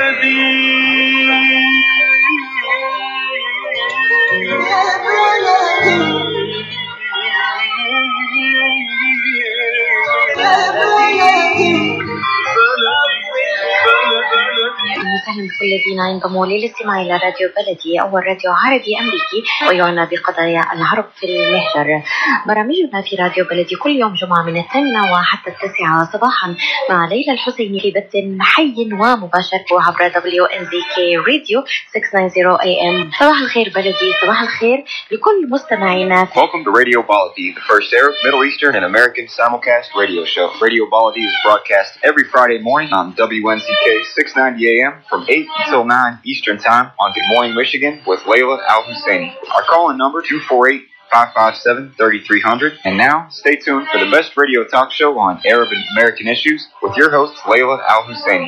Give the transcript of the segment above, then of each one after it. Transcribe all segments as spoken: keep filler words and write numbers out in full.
وسهلا بكل الذين ينضموا للاستماع إلى راديو بلدي، أول راديو عربي أمريكي ويعنى بقضايا العرب في المهجر. برامجنا في راديو بلدي كل يوم جمعة من الثامنة وحتى التاسعة صباحا مع ليلى الحسيني في بث حي ومباشر عبر دبليو إن زي كي راديو ستمائة وتسعين إيه إم. صباح الخير بلدي، صباح الخير لكل مستمعينا. Welcome to Radio Baladi, the first Arab, Middle Eastern, and American simulcast radio show. Radio Baladi is broadcast every Friday morning on W N Z K six ninety A M from eight until nine Eastern Time on Good Morning Michigan with Layla Al-Husseini. Our call-in number two four eight, five five seven, three three zero zero. And now, stay tuned for the best radio talk show on Arab and American issues with your host, Layla Al-Husseini.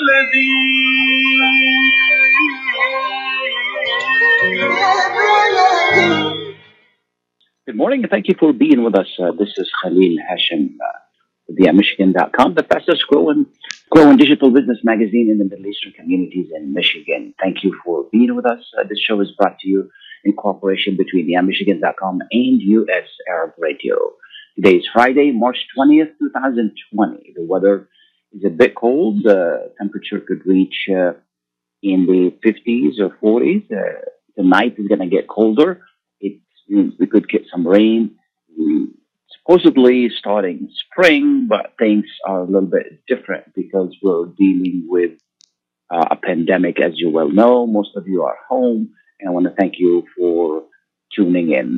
Good morning, and thank you for being with us. Uh, this is Khalil Hashim uh, with the Michigan dot com, the fastest growing, growing digital business magazine in the Middle Eastern communities in Michigan. Thank you for being with us. Uh, this show is brought to you in cooperation between the Michigan dot com and U S Arab Radio. Today is Friday, March twentieth, twenty twenty. The weather is a bit cold. The temperature could reach uh, in the fifties or forties. Uh, the night is going to get colder. We could get some rain, supposedly starting spring, but things are a little bit different because we're dealing with uh, a pandemic, as you well know. Most of you are home, and I want to thank you for tuning in.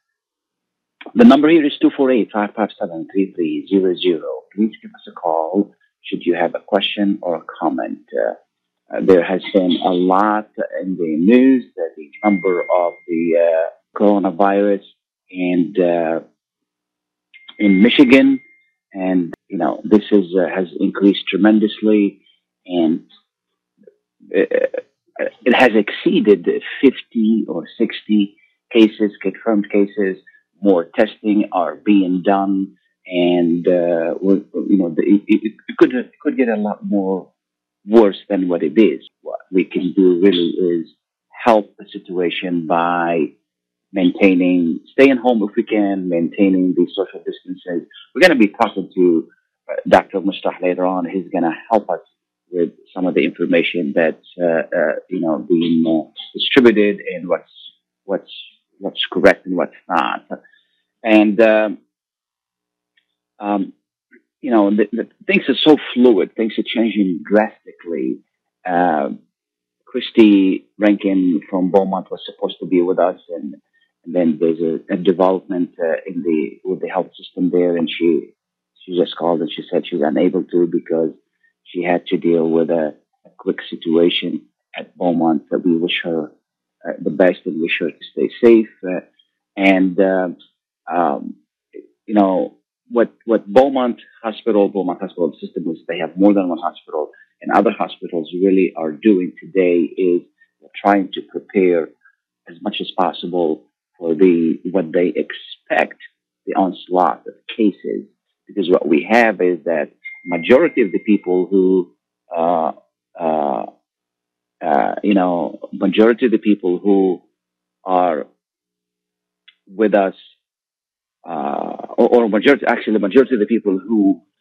The number here is two four eight, five five seven, three three zero zero. Please give us a call should you have a question or a comment. Uh, uh, there has been a lot in the news that the number of the uh, coronavirus and uh, in Michigan, and you know this is uh, has increased tremendously, and uh, it has exceeded fifty or sixty cases, confirmed cases. More testing are being done, and uh, you know it, it, it could it could get a lot more worse than what it is. What we can do really is help the situation by maintaining, staying home if we can, maintaining the social distances. We're going to be talking to uh, Doctor Mustah later on. He's going to help us with some of the information that's uh, uh, you know being uh, distributed and what's what's what's correct and what's not. And um, um, you know the, the things are so fluid. Things are changing drastically. Uh, Christy Rankin from Beaumont was supposed to be with us, and And then there's a, a development uh, in the with the health system there, and she she just called and she said she was unable to because she had to deal with a, a quick situation at Beaumont. That we wish her uh, the best and wish her to stay safe. Uh, and uh, um, you know what what Beaumont Hospital, Beaumont Hospital system is. They have more than one hospital, and other hospitals really are doing today is trying to prepare as much as possible for the what they expect the onslaught of cases, because what we have is that majority of the people who, uh, uh, uh, you know, majority of the people who are with us, uh, or, or majority, actually, the majority of the people who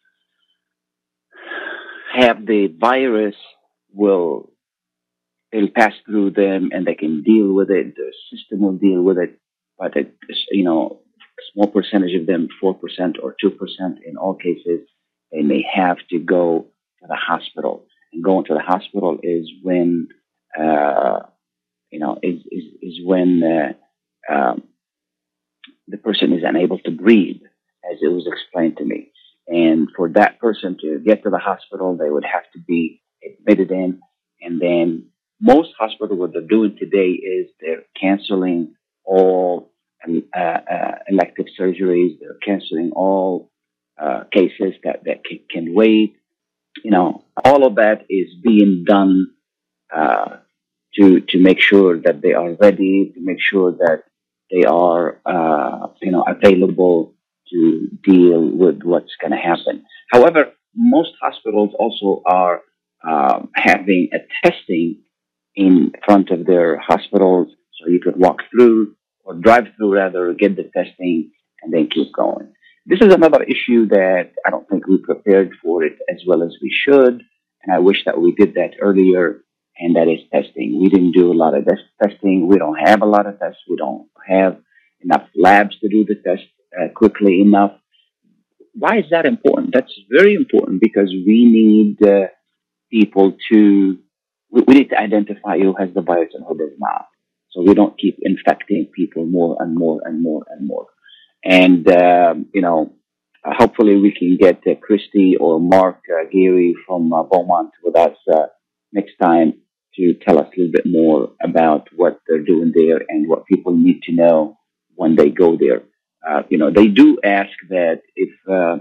have the virus will it'll pass through them, and they can deal with it. The system will deal with it. But, it, you know, a small percentage of them, four percent or two percent in all cases, they may have to go to the hospital. And going to the hospital is when, uh, you know, is, is, is when uh, um, the person is unable to breathe, as it was explained to me. And for that person to get to the hospital, they would have to be admitted in. And then most hospitals, what they're doing today is they're canceling all uh, uh, elective surgeries. They're canceling all uh, cases that, that can, can wait. You know, all of that is being done uh, to to make sure that they are ready, to make sure that they are, uh, you know, available to deal with what's going to happen. However, most hospitals also are um, having a testing in front of their hospitals so you could walk through or drive through rather, get the testing and then keep going. This is another issue that I don't think we prepared for it as well as we should. And I wish that we did that earlier. And that is testing. We didn't do a lot of this testing. We don't have a lot of tests. We don't have enough labs to do the test uh, quickly enough. Why is that important? That's very important because we need uh, people to, we, we need to identify who has the virus and who does not. So we don't keep infecting people more and more and more and more. And, um, you know, uh, hopefully we can get uh, Christy or Mark uh, Geary from uh, Beaumont with us uh, next time to tell us a little bit more about what they're doing there and what people need to know when they go there. Uh, you know, they do ask that if, uh,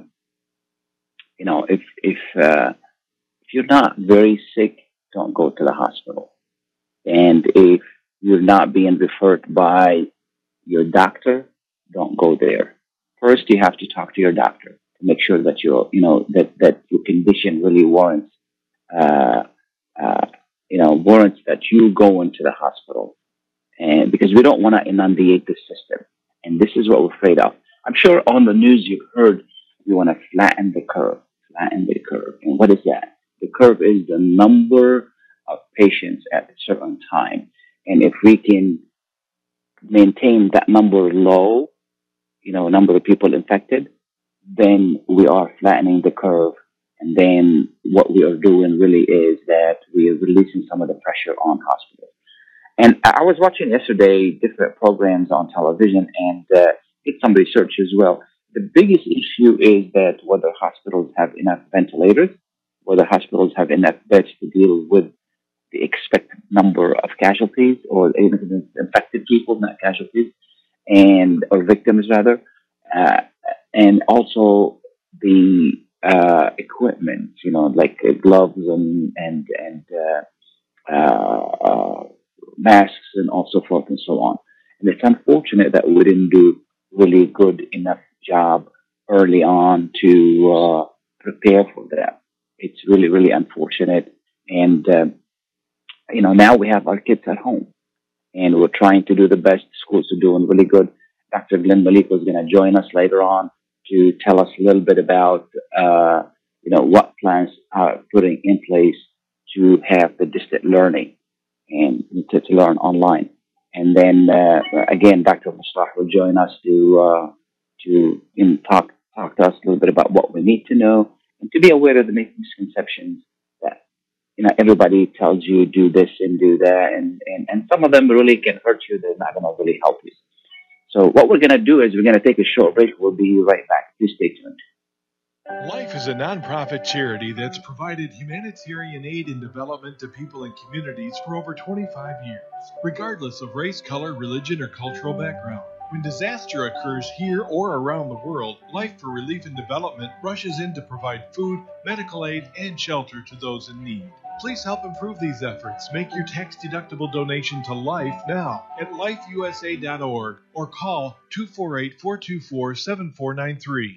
you know, if, if, uh, if you're not very sick, don't go to the hospital. And if you're not being referred by your doctor, don't go there. First, you have to talk to your doctor to make sure that you're, you know, that, that your condition really warrants, uh, uh, you know, warrants that you go into the hospital. And because we don't want to inundate the system. And this is what we're afraid of. I'm sure on the news you've heard we want to flatten the curve, flatten the curve. And what is that? The curve is the number of patients at a certain time. And if we can maintain that number low, you know, number of people infected, then we are flattening the curve. And then what we are doing really is that we are releasing some of the pressure on hospitals. And I was watching yesterday different programs on television and uh, did some research as well. The biggest issue is that whether hospitals have enough ventilators, whether hospitals have enough beds to deal with the expected number of casualties or infected people, not casualties, and or victims rather, uh, and also the uh, equipment, you know, like uh, gloves and and and uh, uh, uh, masks and all so forth and so on. And it's unfortunate that we didn't do really good enough job early on to uh, prepare for that. It's really, really unfortunate. And, uh, you know, now we have our kids at home and we're trying to do the best. Schools are doing really good. Doctor Glenn Malik was going to join us later on to tell us a little bit about, uh, you know, what plans are putting in place to have the distant learning and to, to learn online. And then, uh, again, Doctor Mustah will join us to, uh, to in talk, talk to us a little bit about what we need to know and to be aware of the misconceptions that, you know, everybody tells you do this and do that. And, and, and some of them really can hurt you. They're not going to really help you. So what we're going to do is we're going to take a short break. We'll be right back. Please stay tuned. Life is a nonprofit charity that's provided humanitarian aid and development to people and communities for over twenty-five years, regardless of race, color, religion, or cultural background. When disaster occurs here or around the world, Life for Relief and Development rushes in to provide food, medical aid, and shelter to those in need. Please help improve these efforts. Make your tax-deductible donation to Life now at life u s a dot org or call two four eight, four two four, seven four nine three.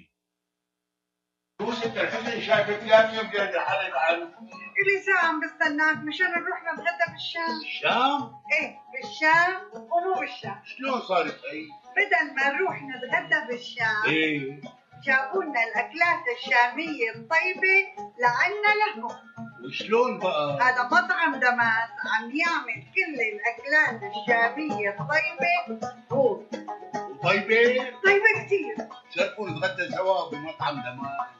إلي ساعة عم بستناك مشان نروح نتغدى بالشام. الشام؟ إيه بالشام ومو بالشام. شلون صارت هي؟ بدل ما نروح نتغدى بالشام إيه جابوا لنا الأكلات الشامية الطيبة لعنا لهم. وشلون بقى؟ هذا مطعم دماس عم يعمل كل الأكلات الشامية الطيبة هو. طيبة؟ طيبة كتير. شرفوا نتغدى سوا بمطعم دماس.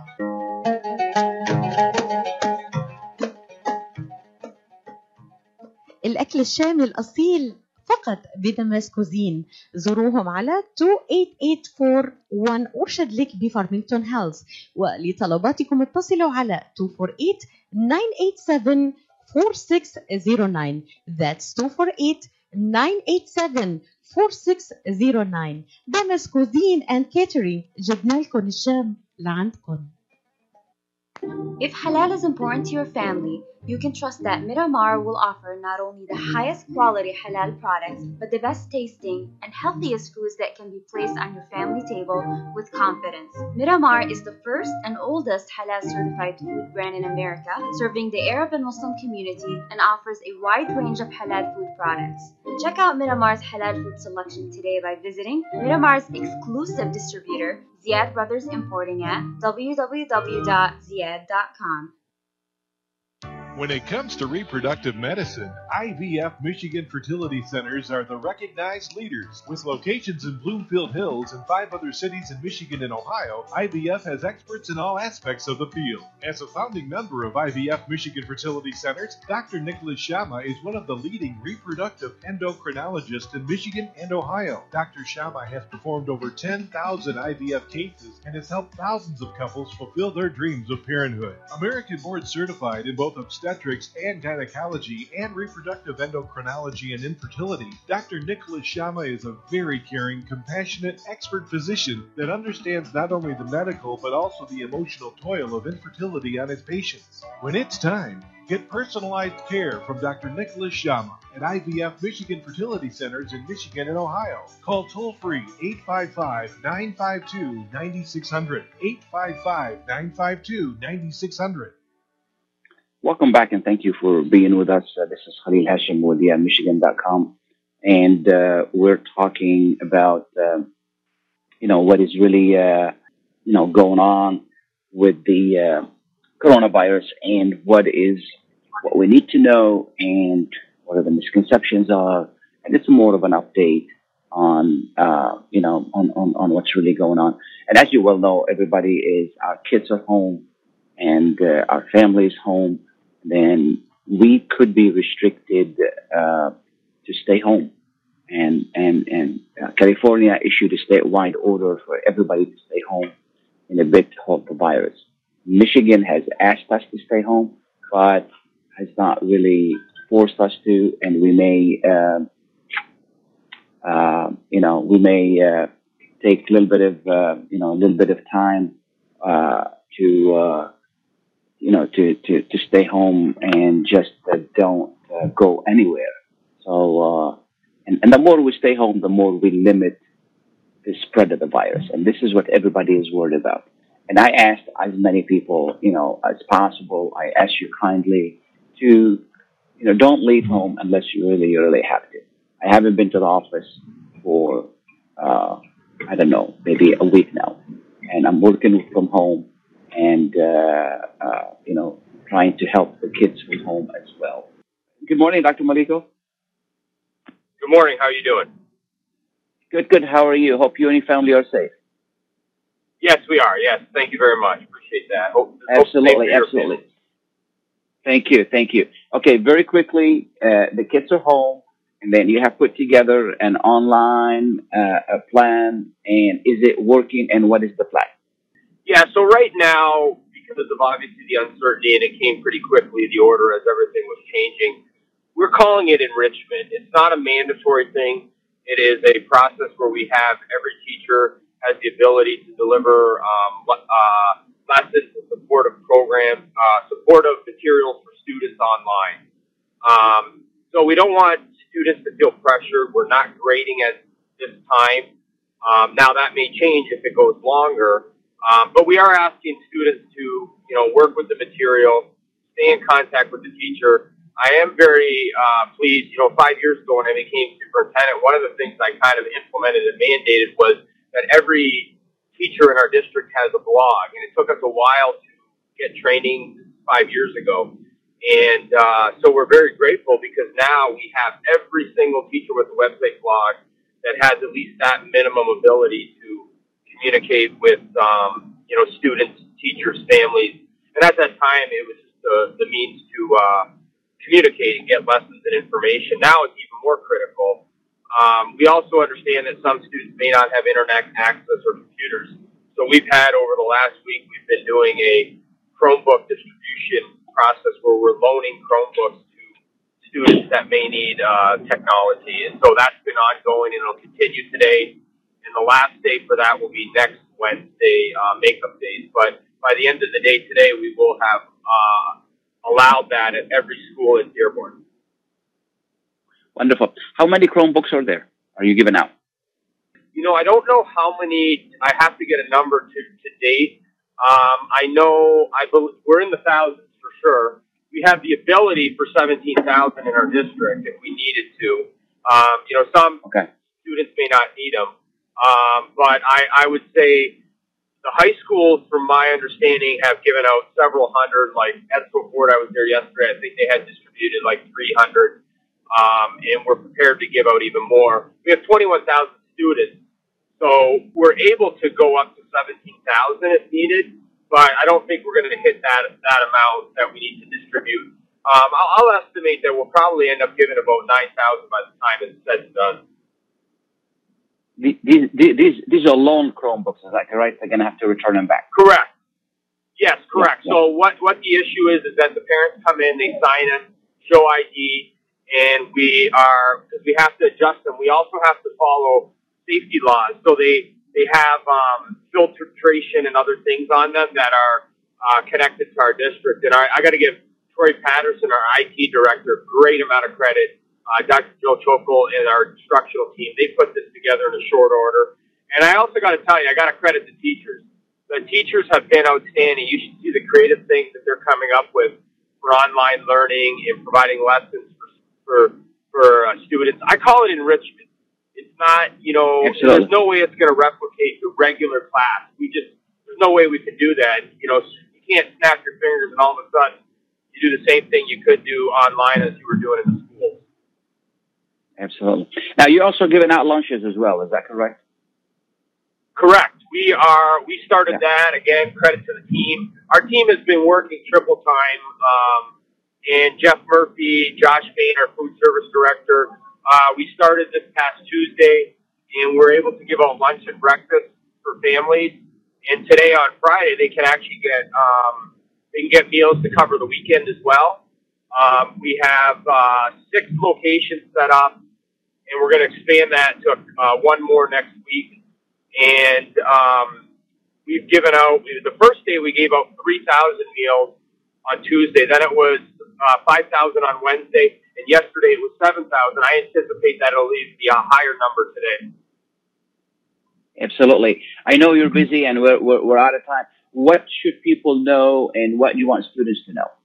الأكل الشامي الأصيل فقط بدمس كوزين. زوروهم على اثنين ثمانية ثمانية أربعة واحد أورشاد ليك بفارمينغتون هيلز، ولطلباتكم اتصلوا على اثنين أربعة ثمانية تسعة سبعة أربعة ستة صفر تسعة. That's اثنين أربعة ثمانية تسعة سبعة أربعة ستة صفر تسعة. دمس كوزين and catering، جبنا لكم الشام لعندكم. If halal is important to your family, you can trust that Miramar will offer not only the highest quality halal products, but the best tasting and healthiest foods that can be placed on your family table with confidence. Miramar is the first and oldest halal certified food brand in America, serving the Arab and Muslim community, and offers a wide range of halal food products. Check out Miramar's halal food selection today by visiting Miramar's exclusive distributor, Ziad Brothers Importing, at w w w dot ziad dot com. When it comes to reproductive medicine, I V F Michigan Fertility Centers are the recognized leaders. With locations in Bloomfield Hills and five other cities in Michigan and Ohio, I V F has experts in all aspects of the field. As a founding member of I V F Michigan Fertility Centers, Doctor Nicholas Shama is one of the leading reproductive endocrinologists in Michigan and Ohio. Doctor Shama has performed over ten thousand I V F cases and has helped thousands of couples fulfill their dreams of parenthood. American board certified in both obstetrics and gynecology and reproductive endocrinology and infertility, Doctor Nicholas Shama is a very caring, compassionate, expert physician that understands not only the medical but also the emotional toil of infertility on his patients. When it's time, get personalized care from Doctor Nicholas Shama at I V F Michigan Fertility Centers in Michigan and Ohio. Call toll-free eight five five, nine five two, nine six zero zero, eight five five, nine five two, nine six zero zero. Welcome back, and thank you for being with us. Uh, this is Khalil Hashim with the Michigan dot com, and uh, we're talking about, uh, you know, what is really, uh, you know, going on with the uh, coronavirus and what is what we need to know and what are the misconceptions are, and it's more of an update on, uh, you know, on, on, on what's really going on. And as you well know, everybody is, our kids are home and uh, our families home. Then we could be restricted uh, to stay home. And and and uh, California issued a statewide order for everybody to stay home in a bid to halt the virus. Michigan has asked us to stay home, but has not really forced us to, and we may, uh, uh, you know, we may uh, take a little bit of, uh, you know, a little bit of time uh, to. Uh, you know, to, to, to stay home and just uh, don't uh, go anywhere. So, uh, and, and the more we stay home, the more we limit the spread of the virus. And this is what everybody is worried about. And I asked as many people, you know, as possible, I ask you kindly to, you know, don't leave home unless you really, you really have to. I haven't been to the office for, uh, I don't know, maybe a week now. And I'm working from home. And, uh, uh, you know, trying to help the kids from home as well. Good morning, Doctor Maliko. Good morning. How are you doing? Good, good. How are you? Hope you and your family are safe. Yes, we are. Yes. Thank you very much. Appreciate that. Hope, absolutely, hope absolutely. Thank you, thank you. Okay, very quickly, uh, the kids are home, and then you have put together an online uh, a plan, and is it working, and what is the plan? Yeah, so right now, because of obviously the uncertainty, and it came pretty quickly, the order as everything was changing, we're calling it enrichment. It's not a mandatory thing. It is a process where we have every teacher has the ability to deliver um, uh, lessons and supportive programs, uh, supportive materials for students online. Um, so we don't want students to feel pressured. We're not grading at this time. Um, now, that may change if it goes longer. Um, but we are asking students to, you know, work with the material, stay in contact with the teacher. I am very uh, pleased. You know, five years ago when I became superintendent, one of the things I kind of implemented and mandated was that every teacher in our district has a blog. And it took us a while to get training five years ago. And uh, so we're very grateful because now we have every single teacher with a website blog that has at least that minimum ability to communicate with, um, you know, students, teachers, families. And at that time, it was just the, the means to uh, communicate and get lessons and information. Now it's even more critical. Um, we also understand that some students may not have internet access or computers. So we've had, over the last week, we've been doing a Chromebook distribution process where we're loaning Chromebooks to students that may need uh, technology. And so that's been ongoing, and it'll continue today. And the last day for that will be next Wednesday, uh, makeup days. But by the end of the day today, we will have uh, allowed that at every school in Dearborn. Wonderful. How many Chromebooks are there? Are you giving out? You know, I don't know how many. I have to get a number to, to date. Um, I know I believe we're in the thousands for sure. We have the ability for seventeen thousand in our district if we needed to. Um, you know, some okay. students may not need them, um, but I, I would say the high schools, from my understanding, have given out several hundred. Like Edsel Ford, I was there yesterday. I think they had distributed like three hundred, um, and we're prepared to give out even more. We have twenty-one thousand students. So we're able to go up to seventeen thousand if needed, but I don't think we're going to hit that that amount that we need to distribute. Um, I'll, I'll estimate that we'll probably end up giving about nine thousand by the time it's said and done. These, these, these are loan Chromebooks, is that correct? They're going to have to return them back. Correct. Yes, correct. Yeah, yeah. So what, what the issue is is that the parents come in, they sign in, show I D, and we are, because we have to adjust them, we also have to follow safety laws. So they they have um, filtration and other things on them that are uh, connected to our district. And I, I got to give Troy Patterson, our I T director, a great amount of credit. Uh, Doctor Joe Chokol and our instructional team, they put this together in a short order. And I also got to tell you, I got to credit the teachers. The teachers have been outstanding. You should see the creative things that they're coming up with for online learning and providing lessons for for, for uh, students. I call it enrichment. It's not, you know, Absolutely. There's no way it's going to replicate the regular class. We just, there's no way we can do that. You know, you can't snap your fingers and all of a sudden you do the same thing you could do online as you were doing in the schools. Absolutely. Now, you're also giving out lunches as well. Is that correct? Correct. We are, we started Yeah. that. Again, credit to the team. Our team has been working triple time. Um, and Jeff Murphy, Josh Bain, our food service director, Uh, we started this past Tuesday, and we're able to give out lunch and breakfast for families. And today on Friday, they can actually get um, they can get meals to cover the weekend as well. Um, we have uh, six locations set up, and we're going to expand that to uh, one more next week. And um, we've given out the first day we gave out three thousand meals on Tuesday. Then it was uh, five thousand on Wednesday. And yesterday it was seven thousand. I anticipate that it'll be a higher number today. Absolutely. I know you're busy and we're, we're, we're out of time. What should people know and what do you want students to know?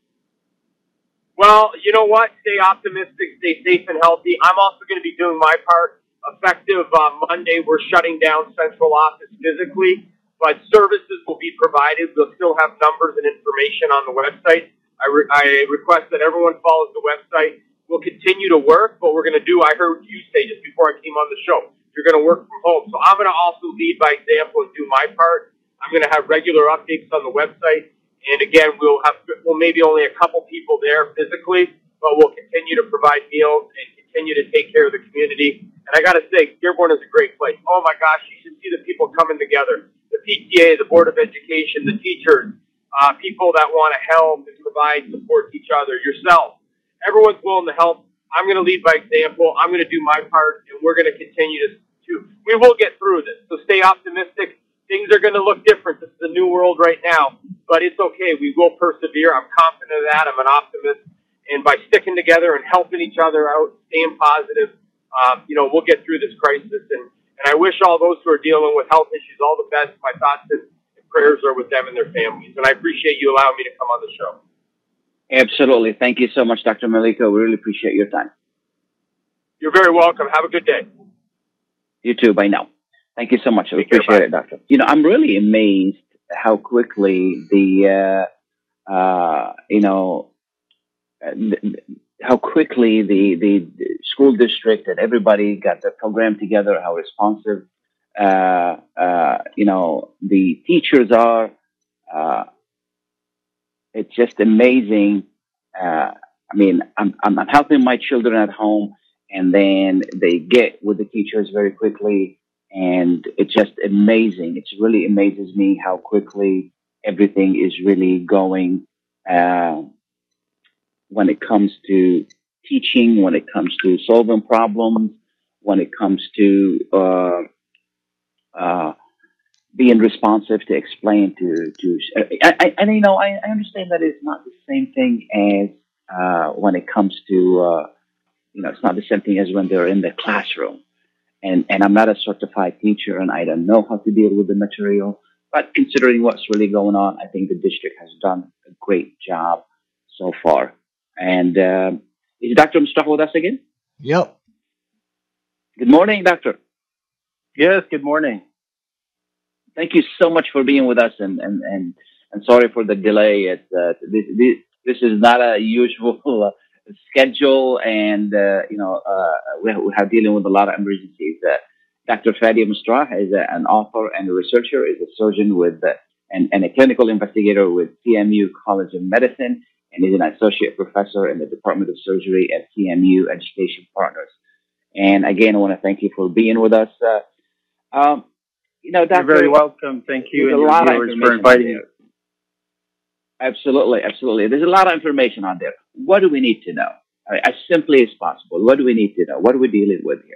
Well, you know what? Stay optimistic, stay safe and healthy. I'm also going to be doing my part. Effective uh, Monday, we're shutting down central office physically, but services will be provided. We'll still have numbers and information on the website. I, re- I request that everyone follows the website. We'll continue to work, but we're going to do, I heard you say just before I came on the show, you're going to work from home. So I'm going to also lead by example and do my part. I'm going to have regular updates on the website. And again, we'll have, well, maybe only a couple people there physically, but we'll continue to provide meals and continue to take care of the community. And I got to say, Dearborn is a great place. Oh my gosh, you should see the people coming together. The P T A, the Board of Education, the teachers, uh, people that want to help and provide support to each other, yourself. Everyone's willing to help. I'm going to lead by example. I'm going to do my part, and we're going to continue to, to, we will get through this. So stay optimistic. Things are going to look different. This is a new world right now, but it's okay. We will persevere. I'm confident of that. I'm an optimist. And by sticking together and helping each other out, staying positive, um, you know, we'll get through this crisis. And, and I wish all those who are dealing with health issues all the best. My thoughts and prayers are with them and their families. And I appreciate you allowing me to come on the show. Absolutely. Thank you so much, Doctor Maliko. We really appreciate your time. You're very welcome. Have a good day. You too. Bye now. Thank you so much. I Take care, appreciate bye. it, Doctor. You know, I'm really amazed how quickly the, uh, uh, you know, how quickly the, the school district and everybody got the program together, how responsive, uh, uh, you know, the teachers are. Uh, It's just amazing. Uh, I mean, I'm, I'm I'm helping my children at home, and then they get with the teachers very quickly, and it's just amazing. It really amazes me how quickly everything is really going uh, when it comes to teaching, when it comes to solving problems, when it comes to uh, uh, being responsive to explain to to I, I, and you know I, I understand that it's not the same thing as uh, when it comes to uh, you know it's not the same thing as when they're in the classroom, and and I'm not a certified teacher and I don't know how to deal with the material, but considering what's really going on, I think the district has done a great job so far. And um, is Doctor Mustafa with us again? Yep. Good morning, Doctor. Yes, good morning. Thank you so much for being with us, and and and, and sorry for the delay. It's uh, this, this this is not a usual uh, schedule, and uh, you know uh, we, we have dealing with a lot of emergencies. Uh, Doctor Fadi Mustrah is a, an author and a researcher, is a surgeon with uh, and, and a clinical investigator with C M U College of Medicine, and is an associate professor in the Department of Surgery at C M U Education Partners. And again, I want to thank you for being with us. Uh, um, You know, Doctor, You're very welcome. Thank you, and a your lot of viewers for inviting me. Absolutely, absolutely. There's a lot of information on there. What do we need to know? I mean, as simply as possible. What do we need to know? What are we dealing with here?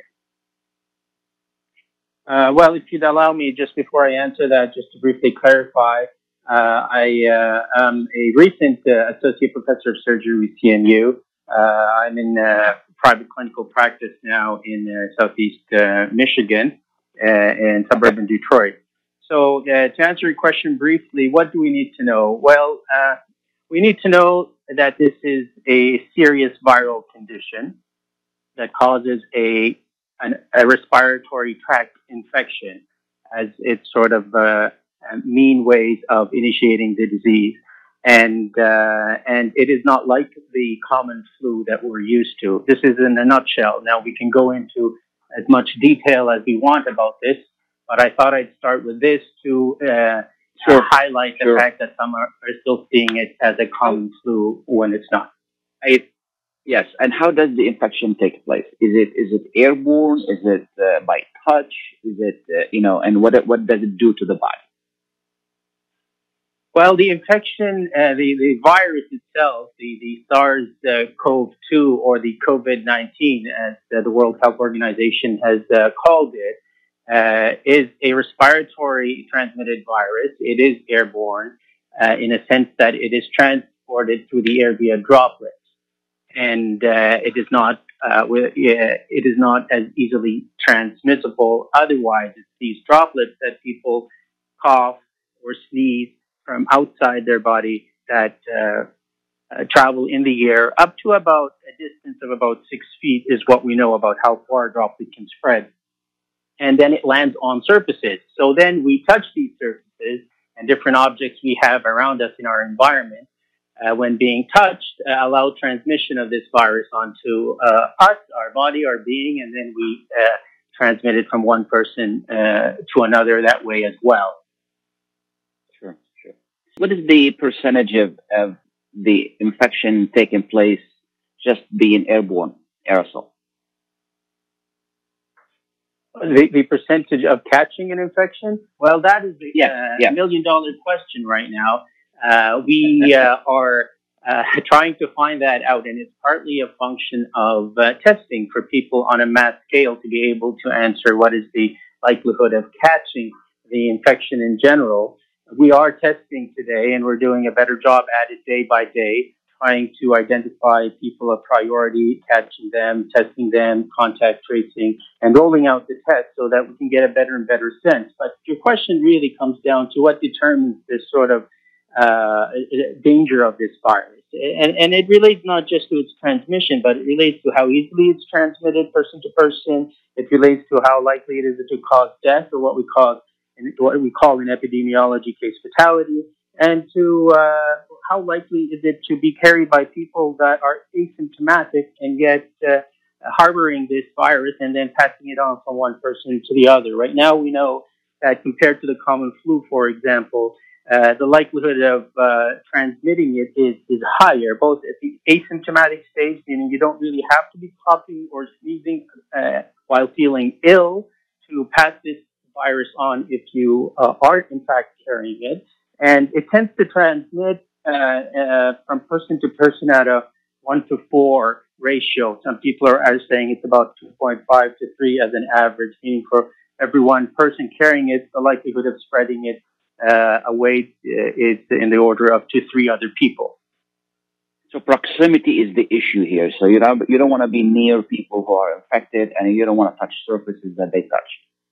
Uh, well, if you'd allow me, just before I answer that, just to briefly clarify, uh, I uh, am a recent uh, associate professor of surgery with C M U. Uh, I'm in uh, private clinical practice now in uh, southeast uh, Michigan uh, and suburban Detroit. So uh, to answer your question briefly, what do we need to know? Well, uh, we need to know that this is a serious viral condition that causes a an, a respiratory tract infection as its sort of uh, mean ways of initiating the disease. And uh, and it is not like the common flu that we're used to. This is in a nutshell. Now, we can go into as much detail as we want about this, but I thought I'd start with this to uh, sure. highlight the sure. fact that some are, are still seeing it as a common flu when it's not. I, yes, and how does the infection take place? Is it is it airborne? Is it uh, by touch? Is it uh, you know? And what what does it do to the body? Well, the infection, uh, the, the virus itself, the, the SARS CoV two or the COVID nineteen, as uh, the World Health Organization has uh, called it, uh, is a respiratory transmitted virus. It is airborne uh, in a sense that it is transported through the air via droplets. And uh, it is not uh, it is not as easily transmissible. Otherwise, it's these droplets that people cough or sneeze from outside their body that uh, uh, travel in the air up to about a distance of about six feet is what we know about how far a droplet can spread. And then it lands on surfaces. So then we touch these surfaces and different objects we have around us in our environment. Uh, when being touched, uh, allow transmission of this virus onto uh, us, our body, our being, and then we uh, transmit it from one person uh, to another that way as well. What is the percentage of, of the infection taking place just being airborne aerosol? The, the percentage of catching an infection? Well, that is a yeah, uh, yeah. million dollar question right now. Uh, we uh, are uh, trying to find that out, and it's partly a function of uh, testing for people on a mass scale to be able to answer what is the likelihood of catching the infection in general. We are testing today, and we're doing a better job at it day by day, trying to identify people of priority, catching them, testing them, contact tracing, and rolling out the test so that we can get a better and better sense. But your question really comes down to what determines this sort of uh, danger of this virus. And, and it relates not just to its transmission, but it relates to how easily it's transmitted person to person. It relates to how likely it is to cause death, or what we call in what we call in epidemiology case fatality, and to uh, how likely is it to be carried by people that are asymptomatic and yet uh, harboring this virus and then passing it on from one person to the other. Right now, we know that compared to the common flu, for example, uh, the likelihood of uh, transmitting it is, is higher, both at the asymptomatic stage, meaning you don't really have to be coughing or sneezing uh, while feeling ill to pass this virus on if you uh, are in fact carrying it, and it tends to transmit uh, uh, from person to person at a one to four ratio. Some people are, are saying it's about two point five to three as an average, meaning for every one person carrying it, the likelihood of spreading it uh, away uh, is in the order of to three other people. So proximity is the issue here. So you don't you don't want to be near people who are infected, and you don't want to touch surfaces that they touch.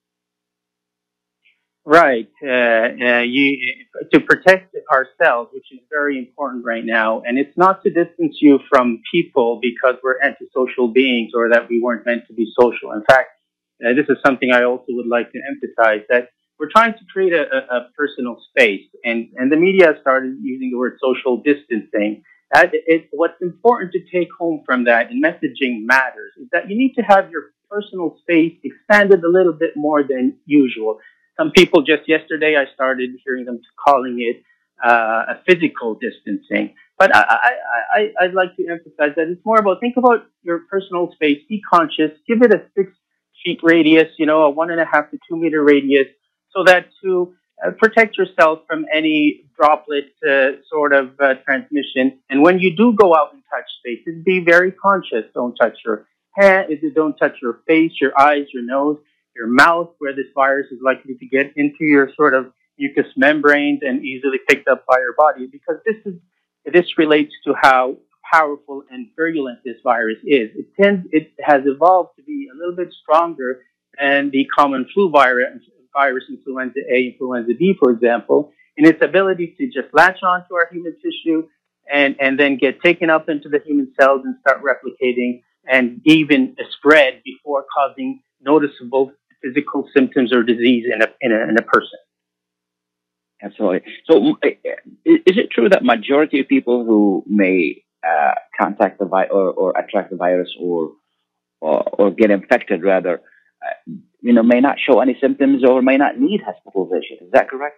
Right. Uh, uh, you, to protect ourselves, which is very important right now, and it's not to distance you from people because we're antisocial beings or that we weren't meant to be social. In fact, uh, this is something I also would like to emphasize, that we're trying to create a, a, a personal space, and, and the media has started using the word social distancing. That it, what's important to take home from that, and messaging matters, is that you need to have your personal space expanded a little bit more than usual. Some people, just yesterday, I started hearing them calling it uh, a physical distancing. But I, I, I, I'd like to emphasize that it's more about, think about your personal space, be conscious, give it a six feet radius, you know, a one and a half to two meter radius, so that to uh, protect yourself from any droplet uh, sort of uh, transmission. And when you do go out and touch spaces, be very conscious. Don't touch your hand, don't touch your face, your eyes, your nose, your mouth, where this virus is likely to get into your sort of mucous membranes and easily picked up by your body, because this is this relates to how powerful and virulent this virus is. It tends it has evolved to be a little bit stronger than the common flu virus, virus influenza A, influenza B, for example, in its ability to just latch onto our human tissue and and then get taken up into the human cells and start replicating and even spread before causing noticeable physical symptoms or disease in a, in a, in a person. Absolutely. So is it true that majority of people who may uh, contact the virus or, or attract the virus or, or, or get infected rather, uh, you know, may not show any symptoms or may not need hospitalization? Is that correct?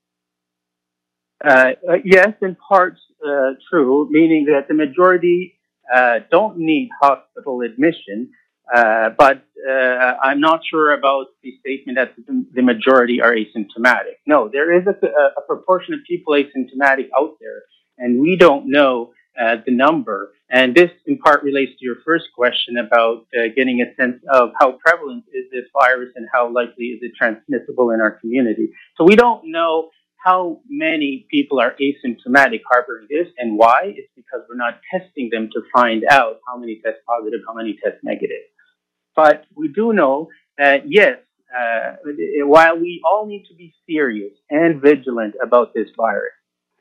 Uh, uh, yes, in part uh, true, meaning that the majority uh, don't need hospital admission. Uh, but uh, I'm not sure about the statement that the, the majority are asymptomatic. No, there is a, a proportion of people asymptomatic out there, and we don't know uh, the number. And this, in part, relates to your first question about uh, getting a sense of how prevalent is this virus and how likely is it transmissible in our community. So we don't know how many people are asymptomatic harboring this and why. It's because we're not testing them to find out how many test positive, how many test negative. But we do know that, yes, uh, while we all need to be serious and vigilant about this virus,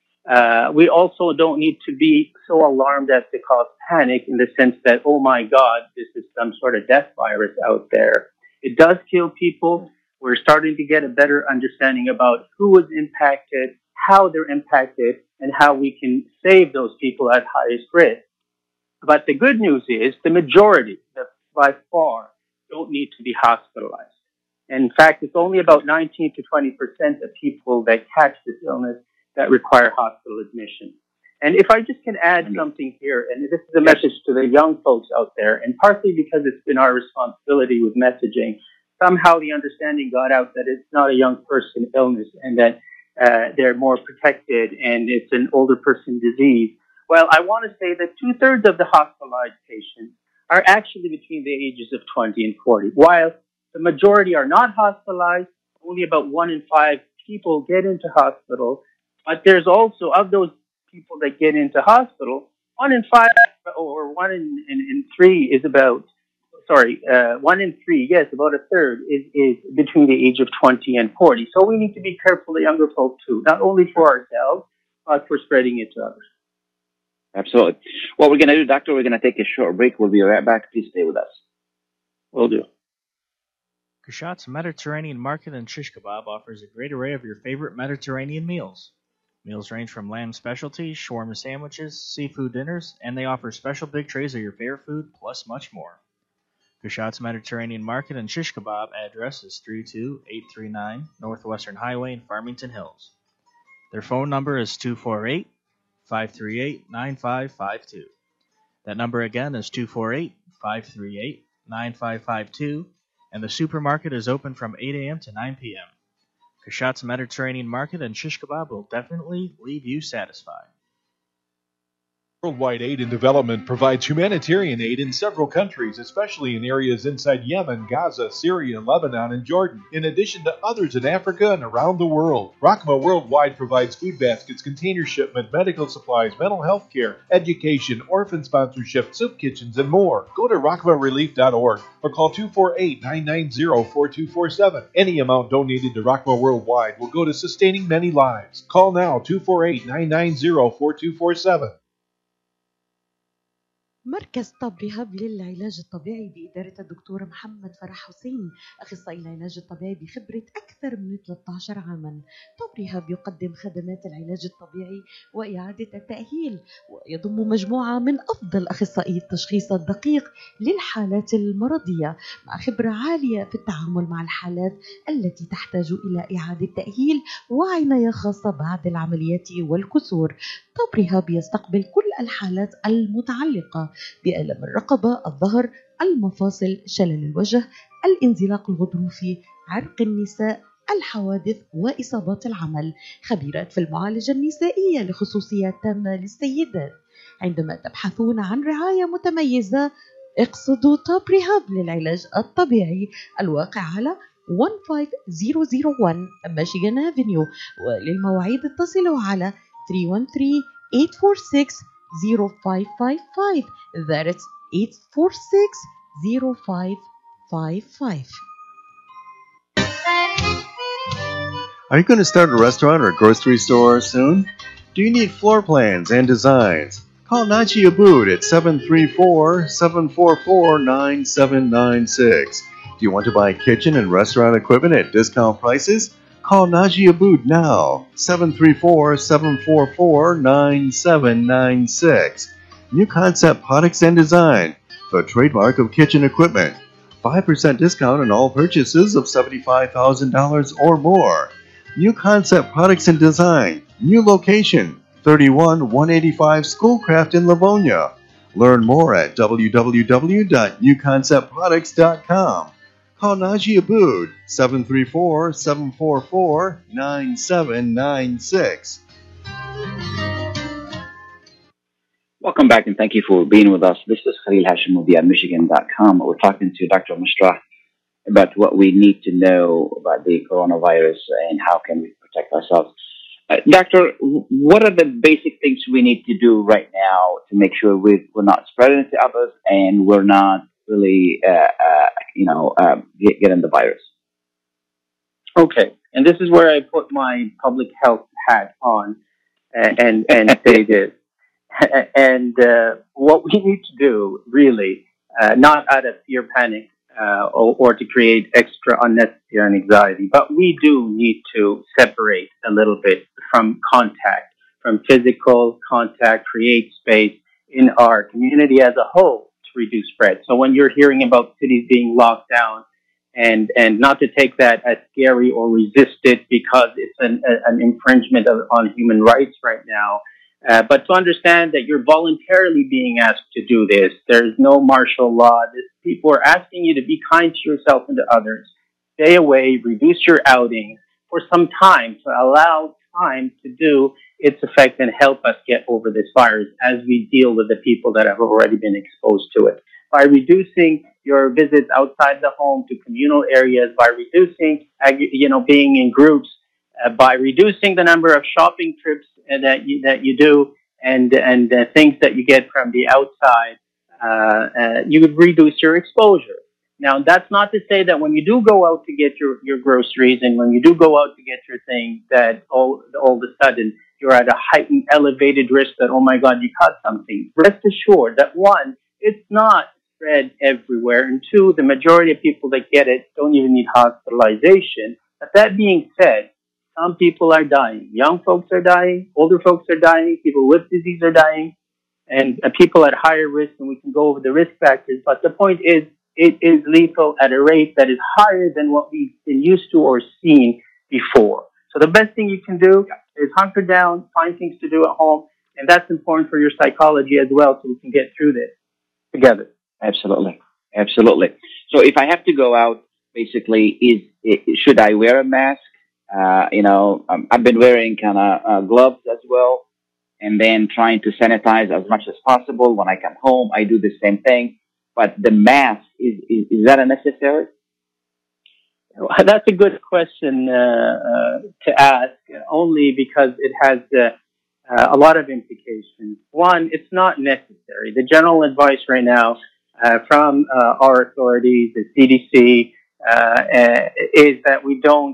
uh, we also don't need to be so alarmed as to cause panic in the sense that, oh my God, this is some sort of death virus out there. It does kill people. We're starting to get a better understanding about who was impacted, how they're impacted, and how we can save those people at highest risk. But the good news is the majority, the by far, don't need to be hospitalized. In fact, it's only about nineteen to twenty percent of people that catch this illness that require hospital admission. And if I just can add something here, and this is a message to the young folks out there, and partly because it's been our responsibility with messaging, somehow the understanding got out that it's not a young person illness and that uh, they're more protected and it's an older person disease. Well, I want to say that two-thirds of the hospitalized patients are actually between the ages of twenty and forty. While the majority are not hospitalized, only about one in five people get into hospital. But there's also, of those people that get into hospital, one in five or one in, in, in three is about, sorry, uh, one in three, yes, about a third is, is between the age of twenty and forty. So we need to be careful of younger folk too, not only for ourselves, but for spreading it to others. Absolutely. What we're going to do, Doctor, we're going to take a short break. We'll be right back. Please stay with us. Will do. Kushat's Mediterranean Market and Shish Kebab offers a great array of your favorite Mediterranean meals. Meals range from lamb specialties, shawarma sandwiches, seafood dinners, and they offer special big trays of your favorite food, plus much more. Kushat's Mediterranean Market and Shish Kebab address is three two eight three nine Northwestern Highway in Farmington Hills. Their phone number is two four eight, five three eight, nine five five two. That number again is two four eight, five three eight, nine five five two, and the supermarket is open from eight a.m. to nine p.m. Kushat's Mediterranean Market and Shish Kebab will definitely leave you satisfied. Worldwide Aid and Development provides humanitarian aid in several countries, especially in areas inside Yemen, Gaza, Syria, Lebanon, and Jordan, in addition to others in Africa and around the world. Rockma Worldwide provides food baskets, container shipment, medical supplies, mental health care, education, orphan sponsorship, soup kitchens, and more. Go to rockma relief dot org or call two four eight, nine nine zero, four two four seven. Any amount donated to Rockma Worldwide will go to sustaining many lives. Call now two four eight, nine nine zero, four two four seven. مركز طب رهاب للعلاج الطبيعي بإدارة الدكتور محمد فرح حسين، أخصائي العلاج الطبيعي بخبرة أكثر من ثلاثة عشر عاما. طب رهاب يقدم خدمات العلاج الطبيعي وإعادة التأهيل، ويضم مجموعة من أفضل أخصائي التشخيص الدقيق للحالات المرضية، مع خبرة عالية في التعامل مع الحالات التي تحتاج إلى إعادة تأهيل وعناية خاصة بعد العمليات والكسور. طب رهاب يستقبل كل الحالات المتعلقة بألم الرقبة، الظهر، المفاصل، شلل الوجه، الانزلاق الغضروفي، عرق النساء، الحوادث وإصابات العمل. خبيرات في المعالجة النسائية لخصوصيات تامة للسيدات. عندما تبحثون عن رعاية متميزة اقصدوا توب ريهاب للعلاج الطبيعي، الواقع على واحد خمسة صفر صفر واحد ميشيغان افنيو. وللمواعيد اتصلوا على three one three, eight four six, zero five five five. That's eight four six, zero five five five. Are you going to start a restaurant or grocery store soon? Do you need floor plans and designs? Call Naji Abood at seven three four, seven four four, nine seven nine six. Do you want to buy kitchen and restaurant equipment at discount prices? Call Naji Abood now, seven three four, seven four four, nine seven nine six. New Concept Products and Design, the trademark of kitchen equipment. five percent discount on all purchases of seventy-five thousand dollars or more. New Concept Products and Design, new location, thirty-one one eighty-five Schoolcraft in Livonia. Learn more at w w w dot new concept products dot com. Call Naji Abood, seven three four, seven four four, nine seven nine six. Welcome back and thank you for being with us. This is Khalil Hashim of Michigan dot com. We're talking to Doctor Mushrah about what we need to know about the coronavirus and how can we protect ourselves. Uh, doctor, what are the basic things we need to do right now to make sure we, we're not spreading it to others and we're not really, uh, uh, you know, uh, get, getting the virus? Okay, and this is where I put my public health hat on and and, and say this. And uh, what we need to do, really, uh, not out of fear, panic, uh, or, or to create extra unnecessary anxiety, but we do need to separate a little bit from contact, from physical contact, create space in our community as a whole to reduce spread. So when you're hearing about cities being locked down, and and not to take that as scary or resist it because it's an, an infringement of, on human rights right now, Uh, but to understand that you're voluntarily being asked to do this. There's no martial law. This, people are asking you to be kind to yourself and to others. Stay away, reduce your outings for some time to allow time to do its effect and help us get over this virus as we deal with the people that have already been exposed to it. By reducing your visits outside the home to communal areas, by reducing, you know, being in groups, uh, by reducing the number of shopping trips that you that you do, and and uh, things that you get from the outside, uh, uh, you would reduce your exposure. Now, that's not to say that when you do go out to get your, your groceries and when you do go out to get your things, that all all of a sudden you're at a heightened, elevated risk that, oh my God, you caught something. Rest assured that one, it's not spread everywhere, and two, the majority of people that get it don't even need hospitalization. But that being said, some people are dying. Young folks are dying. Older folks are dying. People with disease are dying. And uh, people at higher risk, and we can go over the risk factors. But the point is, it is lethal at a rate that is higher than what we've been used to or seen before. So the best thing you can do is hunker down, find things to do at home. And that's important for your psychology as well, so we can get through this together. Absolutely. Absolutely. So if I have to go out, basically, is should I wear a mask? Uh, you know, um, I've been wearing kind of uh, gloves as well, and then trying to sanitize as much as possible. When I come home, I do the same thing. But the mask, is, is, is that unnecessary? That's a good question uh, uh, to ask, only because it has uh, uh, a lot of implications. One, it's not necessary. The general advice right now uh, from uh, our authorities, the C D C, uh, uh, is that we don't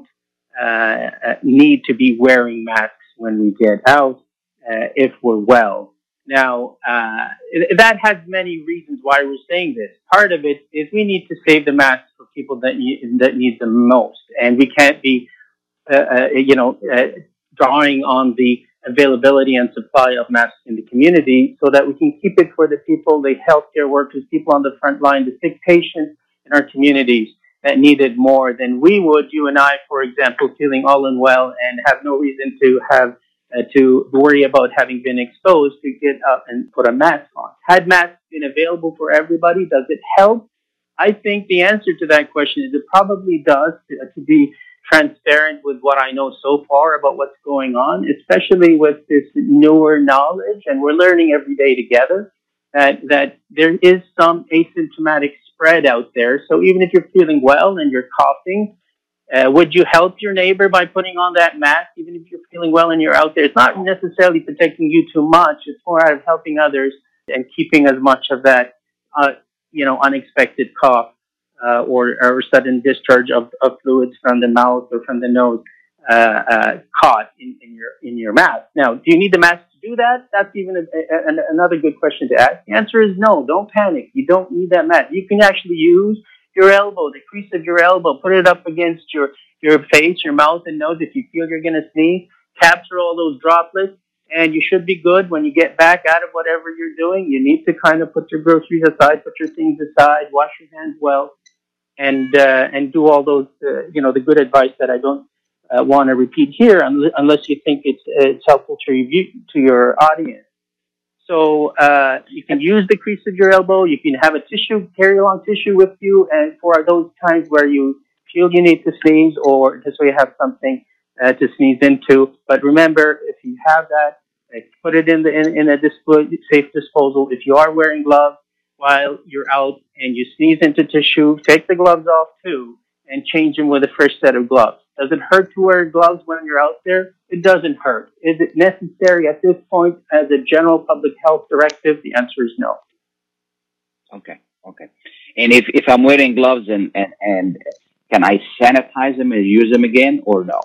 uh, need to be wearing masks when we get out uh, if we're well. Now, uh, that has many reasons why we're saying this. Part of it is we need to save the masks for people that need, that need them most. And we can't be, uh, uh, you know, uh, drawing on the availability and supply of masks in the community so that we can keep it for the people, the healthcare workers, people on the front line, the sick patients in our communities that need it more than we would, you and I, for example, feeling all unwell and have no reason to have Uh, to worry about having been exposed to get up and put a mask on. Had masks been available for everybody, does it help? I think the answer to that question is it probably does, to, to be transparent with what I know so far about what's going on, especially with this newer knowledge, and we're learning every day together that, that there is some asymptomatic spread out there. So even if you're feeling well and you're coughing, Uh, would you help your neighbor by putting on that mask, even if you're feeling well and you're out there? It's not necessarily protecting you too much. It's more out of helping others and keeping as much of that, uh, you know, unexpected cough uh, or, or sudden discharge of, of fluids from the mouth or from the nose uh, uh, caught in, in your in your mask. Now, do you need the mask to do that? That's even a, a, another good question to ask. The answer is no. Don't panic. You don't need that mask. You can actually use your elbow, the crease of your elbow, put it up against your, your face, your mouth and nose. If you feel you're going to sneeze, capture all those droplets, and you should be good when you get back out of whatever you're doing. You need to kind of put your groceries aside, put your things aside, wash your hands well, and uh, and do all those, uh, you know, the good advice that I don't uh, want to repeat here, unless you think it's, it's helpful to review to your audience. So uh, you can use the crease of your elbow. You can have a tissue, carry along tissue with you, and for those times where you feel you need to sneeze, or just so you have something uh, to sneeze into. But remember, if you have that, uh, put it in the in, in a display, safe disposal. If you are wearing gloves while you're out and you sneeze into tissue, take the gloves off too, and change them with a fresh set of gloves. Does it hurt to wear gloves when you're out there? It doesn't hurt. Is it necessary at this point as a general public health directive? The answer is no. Okay, okay. And if, if I'm wearing gloves, and, and, and can I sanitize them and use them again, or no?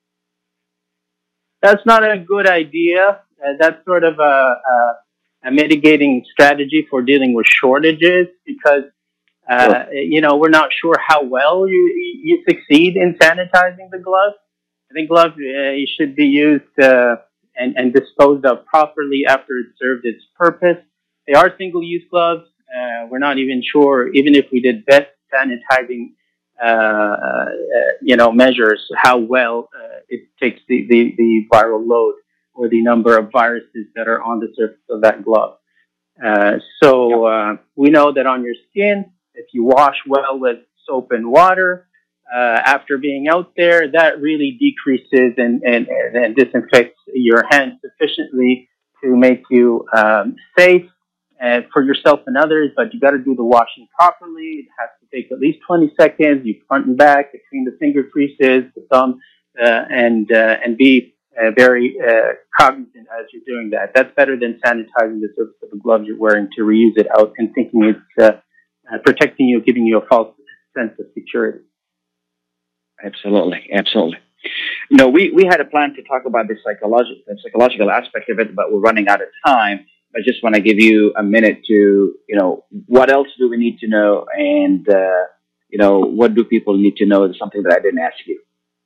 That's not a good idea. Uh, that's sort of a, a, a mitigating strategy for dealing with shortages, because Uh, sure. You know, we're not sure how well you you succeed in sanitizing the gloves. I think gloves uh, should be used uh, and, and disposed of properly after it served its purpose. They are single-use gloves. Uh, we're not even sure, even if we did best sanitizing, uh, uh, you know, measures, how well uh, it takes the, the, the viral load or the number of viruses that are on the surface of that glove. Uh, so uh, we know that on your skin, if you wash well with soap and water uh, after being out there, that really decreases and, and, and disinfects your hands sufficiently to make you um, safe uh, for yourself and others. But you got to do the washing properly. It has to take at least twenty seconds. You front and back between the finger creases, the thumb, uh, and uh, and be uh, very uh, cognizant as you're doing that. That's better than sanitizing the surface of the glove you're wearing to reuse it out and thinking it's uh, Uh, protecting you, giving you a false sense of security. Absolutely, absolutely. You know, we, we had a plan to talk about the psychological the psychological aspect of it, but we're running out of time. I just want to give you a minute to, you know, what else do we need to know, and uh, you know, what do people need to know? Is something that I didn't ask you.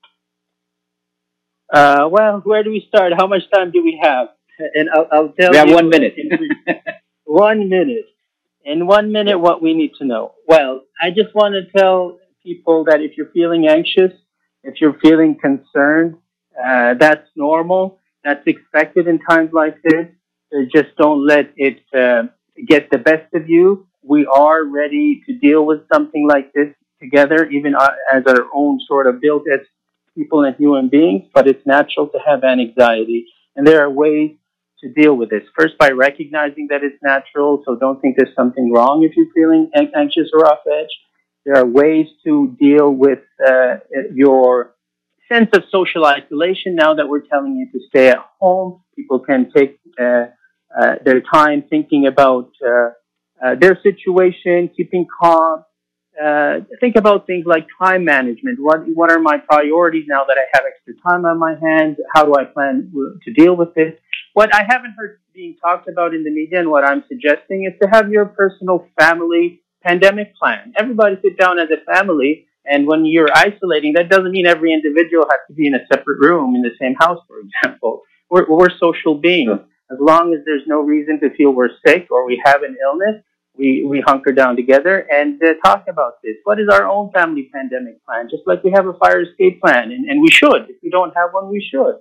Uh, well, where do we start? How much time do we have? And I'll, I'll tell we you. We have one minute. one minute. In one minute, what we need to know. Well, I just want to tell people that if you're feeling anxious, if you're feeling concerned, uh, that's normal. That's expected in times like this. So just don't let it uh, get the best of you. We are ready to deal with something like this together, even as our own sort of built as people and human beings. But it's natural to have anxiety, and there are ways to deal with this. First, by recognizing that it's natural, so don't think there's something wrong if you're feeling an- anxious or off edge. There are ways to deal with uh, your sense of social isolation now that we're telling you to stay at home. People can take uh, uh, their time thinking about uh, uh, their situation, keeping calm. Uh, think about things like time management. What what are my priorities now that I have extra time on my hands? How do I plan to deal with this? What I haven't heard being talked about in the media, and what I'm suggesting, is to have your personal family pandemic plan. Everybody sit down as a family, and when you're isolating, that doesn't mean every individual has to be in a separate room in the same house, for example. We're, we're social beings. As long as there's no reason to feel we're sick or we have an illness, we, we hunker down together and uh, talk about this. What is our own family pandemic plan? Just like we have a fire escape plan, and, and we should. If we don't have one, we should.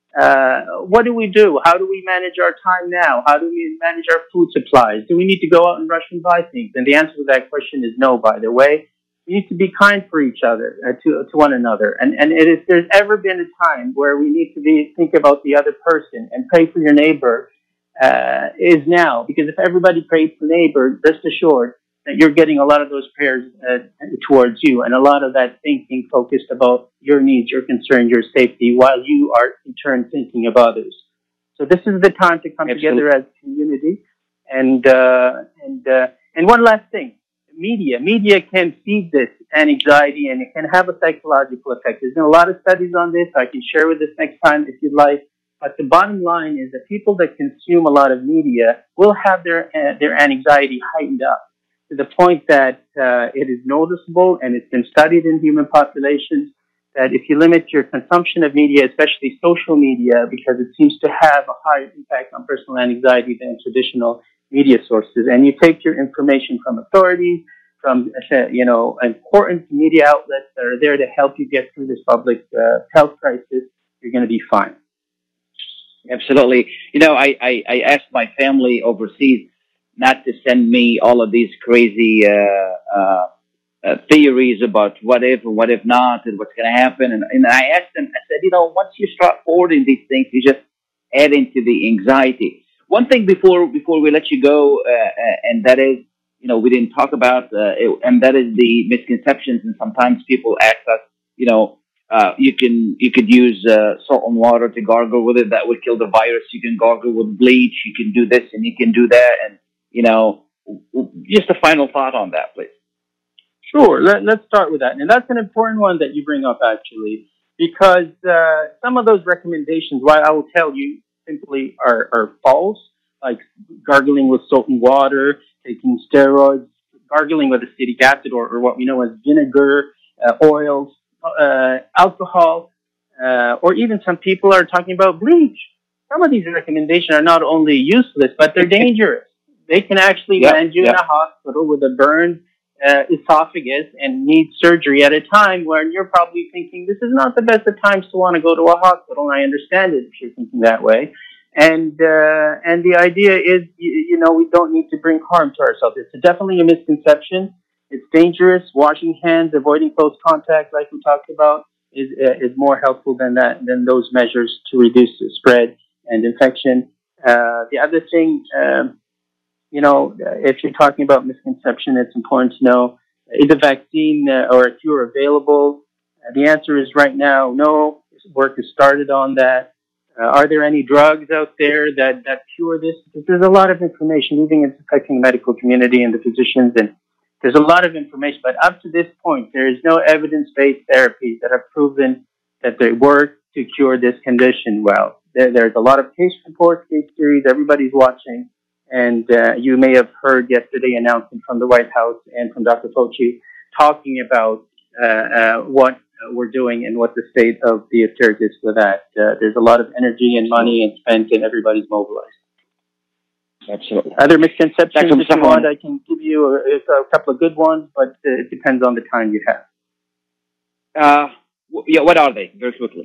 Uh, what do we do? How do we manage our time now? How do we manage our food supplies? Do we need to go out and rush and buy things? And the answer to that question is no, by the way. We need to be kind for each other, uh, to, to one another. And, and if there's ever been a time where we need to be, think about the other person and pray for your neighbor, uh, is now. Because if everybody prays for neighbor, rest assured that you're getting a lot of those prayers uh, towards you, and a lot of that thinking focused about your needs, your concerns, your safety, while you are in turn thinking of others. So this is the time to come Absolutely. together as a community. And uh, and uh, and one last thing, media. Media can feed this anxiety, and it can have a psychological effect. There's been a lot of studies on this. I can share with this next time if you'd like. But the bottom line is that people that consume a lot of media will have their uh, their anxiety heightened up, to the point that uh, it is noticeable, and it's been studied in human populations, that if you limit your consumption of media, especially social media, because it seems to have a higher impact on personal anxiety than traditional media sources, and you take your information from authorities, from uh, you know important media outlets that are there to help you get through this public uh, health crisis, you're going to be fine. Absolutely. You know, I, I, I asked my family overseas not to send me all of these crazy uh, uh, uh, theories about what if and what if not and what's going to happen. And, and I asked them, I said, you know, once you start forwarding these things, you just add into the anxiety. One thing before before we let you go, uh, uh, and that is, you know, we didn't talk about, uh, it, and that is the misconceptions. And sometimes people ask us, you know, Uh, you can you could use uh, salt and water to gargle with it. That would kill the virus. You can gargle with bleach. You can do this and you can do that. And you know, just a final thought on that, please. Sure. Let, let's start with that, and that's an important one that you bring up actually, because uh, some of those recommendations, while I will tell you, simply are are false. Like gargling with salt and water, taking steroids, gargling with acetic acid, or, or what we know as vinegar, uh, oils. Uh, alcohol, uh, or even some people are talking about bleach. Some of these recommendations are not only useless, but they're dangerous. They can actually Yep, land you yep. in a hospital with a burned uh, esophagus and need surgery at a time when you're probably thinking, this is not the best of times to want to go to a hospital. And I understand it if you're thinking that way. And uh, and the idea is, you, you know, we don't need to bring harm to ourselves. It's definitely a misconception. It's dangerous. Washing hands, avoiding close contact, like we talked about, is uh, is more helpful than that than those measures to reduce the spread and infection. Uh, the other thing, um, you know, if you're talking about misconception, it's important to know: is a vaccine uh, or a cure available? Uh, the answer is right now, no. Work has started on that. Uh, are there any drugs out there that that cure this? Because there's a lot of information, even it's affecting the medical community and the physicians, and there's a lot of information, but up to this point, there is no evidence-based therapies that have proven that they work to cure this condition well. There, there's a lot of case reports, case series, everybody's watching, and uh, you may have heard yesterday announcement from the White House and from Doctor Fauci talking about uh, uh, what uh, we're doing and what the state of the affairs is for that. Uh, there's a lot of energy and money and spent, and everybody's mobilized. Absolutely. Other misconceptions, Doctor if you want, I can give you a, a couple of good ones, but uh, it depends on the time you have. Uh, w- yeah, what are they? Very quickly.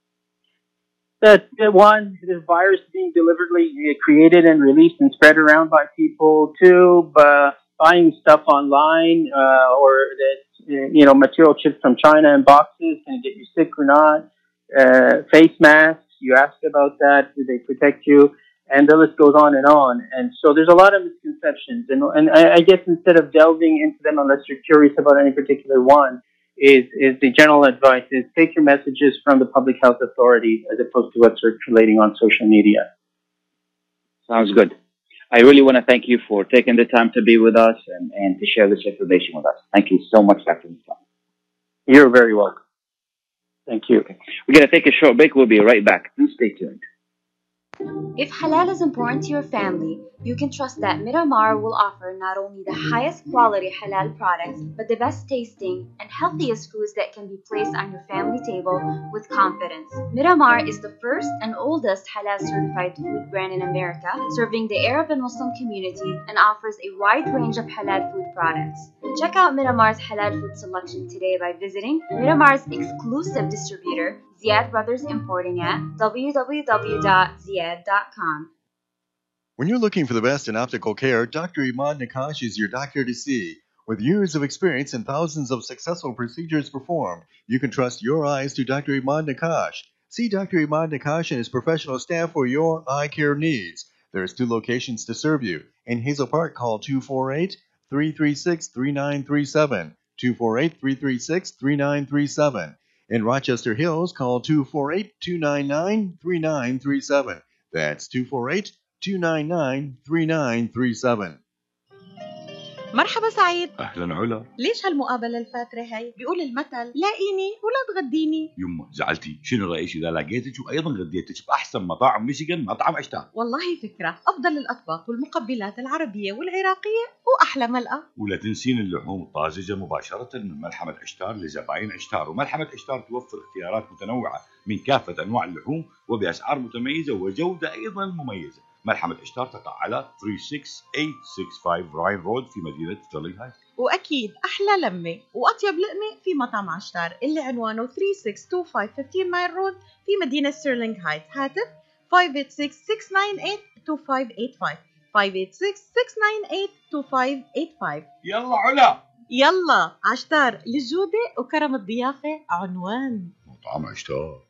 That uh, one, the virus being deliberately uh, created and released and spread around by people. Two, uh, buying stuff online uh, or that uh, you know material chips from China in boxes, can it get you sick or not? Uh, face masks, you asked about that. Do they protect you? and the list goes on and on. And so there's a lot of misconceptions. And, and I, I guess instead of delving into them, unless you're curious about any particular one, is, is the general advice is take your messages from the public health authorities as opposed to what's circulating on social media. Sounds good. I really want to thank you for taking the time to be with us and, and to share this information with us. Thank you so much, Doctor Mustafa. You're very welcome. Thank you. Okay. We're going to take a short break. We'll be right back. Please stay tuned. If halal is important to your family, you can trust that Miramar will offer not only the highest quality halal products, but the best tasting and healthiest foods that can be placed on your family table with confidence. Miramar is the first and oldest halal certified food brand in America, serving the Arab and Muslim community, and offers a wide range of halal food products. Check out Miramar's halal food selection today by visiting Miramar's exclusive distributor, Ziyad Brothers Importing at w w w dot ziyad dot com. When you're looking for the best in optical care, Doctor Imad Nakash is your doctor to see. With years of experience and thousands of successful procedures performed, you can trust your eyes to Doctor Imad Nakash. See Doctor Imad Nakash and his professional staff for your eye care needs. There's two locations to serve you. In Hazel Park, call two four eight, three three six, three nine three seven, two four eight, three three six, three nine three seven. In Rochester Hills, call two four eight, two nine nine, three nine three seven. That's two four eight, two nine nine, three nine three seven. مرحبا سعيد. اهلا علا. ليش هالمقابله الفاتره هي؟ بيقول المثل لاقيني ولا تغديني. يما زعلتي، شنو رايك اذا لقيتك وايضا غديتك باحسن مطاعم ميشيغان، مطعم عشتار؟ والله فكره، افضل الاطباق والمقبلات العربيه والعراقيه واحلى ملقا. ولا تنسين اللحوم الطازجه مباشره من ملحمه عشتار لزباين عشتار، وملحمه عشتار توفر اختيارات متنوعه من كافه انواع اللحوم وباسعار متميزه وجوده ايضا مميزه. ملحمة عشتار تقع على ثلاثة ستة ثمانية ستة خمسة راين رود في مدينة ستيرلينغ هايت. وأكيد أحلى لمة وأطيب لقمة في مطعم عشتار اللي عنوانه ثلاثة ستة اثنين خمسة خمسة عشر مايل رود في مدينة ستيرلينغ هايت. هاتف خمسة ثمانية ستة ستة تسعة ثمانية ثمانية اثنين خمسة ثمانية ثمانية ستة ستة ثمانية اثنين خمسة ثمانية خمسة. يلا علا. يلا عشتار للجودة وكرم الضيافة عنوان مطعم عشتار.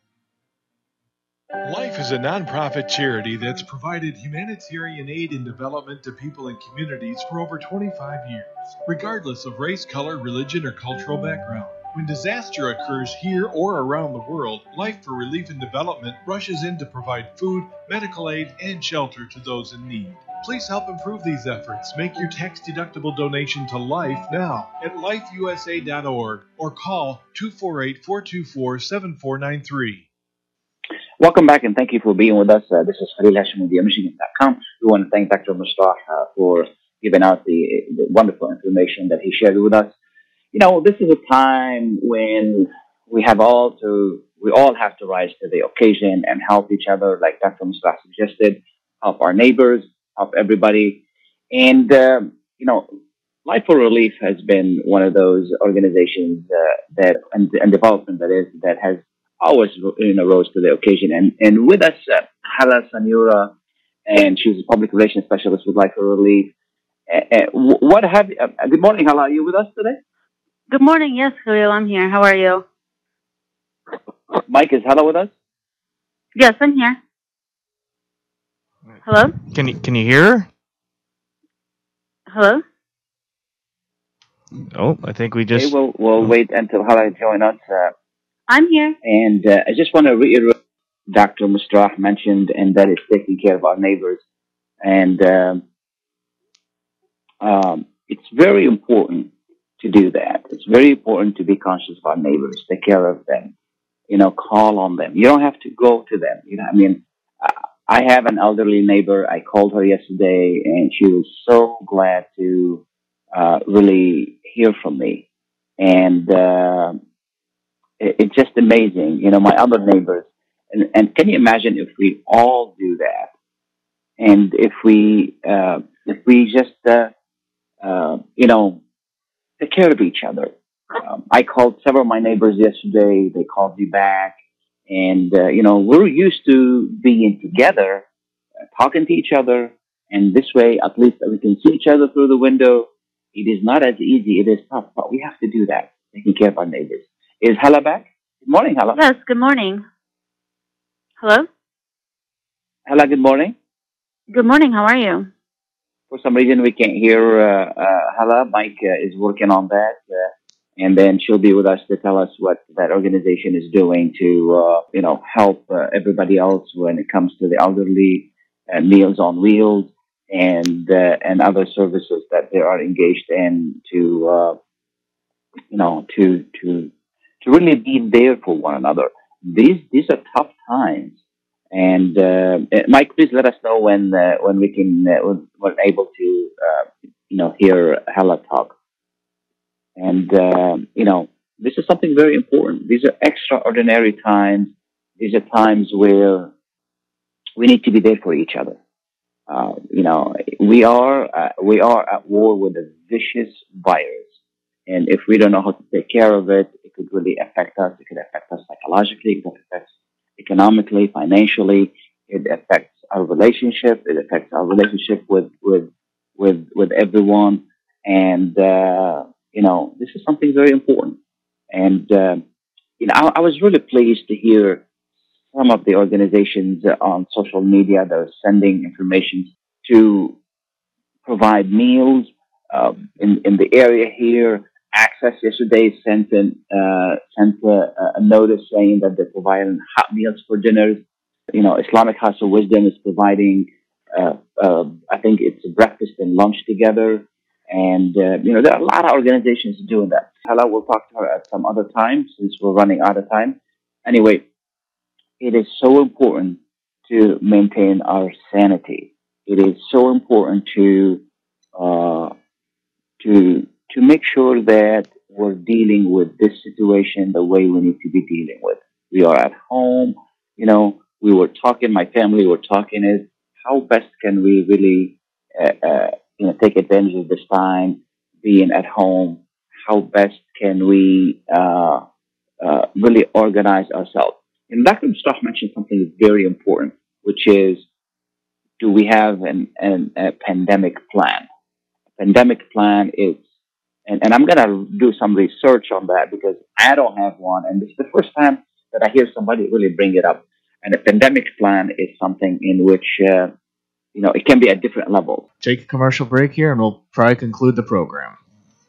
Life is a non-profit charity that's provided humanitarian aid and development to people and communities for over twenty-five years, regardless of race, color, religion, or cultural background. When disaster occurs here or around the world, Life for Relief and Development rushes in to provide food, medical aid, and shelter to those in need. Please help improve these efforts. Make your tax-deductible donation to Life now at life u s a dot org or call two four eight, four two four, seven four nine three. Welcome back and thank you for being with us. Uh, this is Khalil Hashim with Michigan dot com. We want to thank Doctor Mustah uh, for giving out the, the wonderful information that he shared with us. You know, this is a time when we have all to, we all have to rise to the occasion and help each other, like Doctor Mustah suggested, help our neighbors, help everybody. And, um, you know, Life for Relief has been one of those organizations uh, that, and, and development that is, that has always, you know, rose to the occasion. And, and with us, uh, Hala Sanura, and she's a public relations specialist with Life for Relief. Uh, uh, what have, uh, good morning, Hala, are you with us today? Good morning, yes, Khalil, I'm here. How are you? Mike, is Hala with us? Yes, I'm here. Hello? Can you, can you hear her? Hello? Oh, I think we just... Okay, we'll, we'll wait until Hala joins us. Uh, I'm here. And uh, I just want to reiterate Doctor Mustah mentioned, and that is taking care of our neighbors. And um, um, it's very important to do that. It's very important to be conscious of our neighbors, take care of them, you know, call on them. You don't have to go to them. You know, I mean, I have an elderly neighbor. I called her yesterday, and she was so glad to uh, really hear from me. And uh, it's just amazing, you know, my other neighbors. And, and can you imagine if we all do that? And if we, uh, if we just, uh, uh, you know, take care of each other. Um, I called several of my neighbors yesterday. They called me back. And, uh, you know, we're used to being together, uh, talking to each other. And this way, at least we can see each other through the window. It is not as easy. It is tough, but we have to do that, taking care of our neighbors. Is Hala back? Good morning, Hala. Yes, good morning. Hello? Hala, good morning. Good morning. How are you? For some reason, we can't hear uh, uh, Hala. Mike uh, is working on that. Uh, and then she'll be with us to tell us what that organization is doing to, uh, you know, help uh, everybody else when it comes to the elderly, uh, Meals on Wheels, and uh, and other services that they are engaged in to, uh, you know, to to to really be there for one another. These these are tough times, and uh, uh, Mike, please let us know when uh, when we can uh, when we're able to, uh, you know, hear Hala talk. And, um, you know, this is something very important. These are extraordinary times. These are times where we need to be there for each other. Uh, you know, we are, uh, we are at war with a vicious virus. And if we don't know how to take care of it, it could really affect us. It could affect us psychologically. It could affect us economically, financially. It affects our relationship. It affects our relationship with, with, with, with everyone. And, uh, you know, this is something very important. And, uh, you know, I, I was really pleased to hear some of the organizations on social media that are sending information to provide meals uh, in, in the area here. Access yesterday sent, an, uh, sent a, a notice saying that they're providing hot meals for dinners. You know, Islamic House of Wisdom is providing, uh, uh, I think it's breakfast and lunch together. And, uh, you know, there are a lot of organizations doing that. Hala, we'll talk to her at some other time since we're running out of time. Anyway, it is so important to maintain our sanity. It is so important to, uh, to, to make sure that we're dealing with this situation the way we need to be dealing with. We are at home. You know, we were talking, my family were talking is how best can we really, uh, uh, you know, take advantage of this time being at home? How best can we, uh, uh, really organize ourselves? And Doctor Mustafa mentioned something very important, which is, do we have an, an a pandemic plan? A pandemic plan is, and, and I'm going to do some research on that because I don't have one. And this is the first time that I hear somebody really bring it up. And a pandemic plan is something in which, uh, you know, it can be at different levels. Take a commercial break here and we'll probably conclude the program.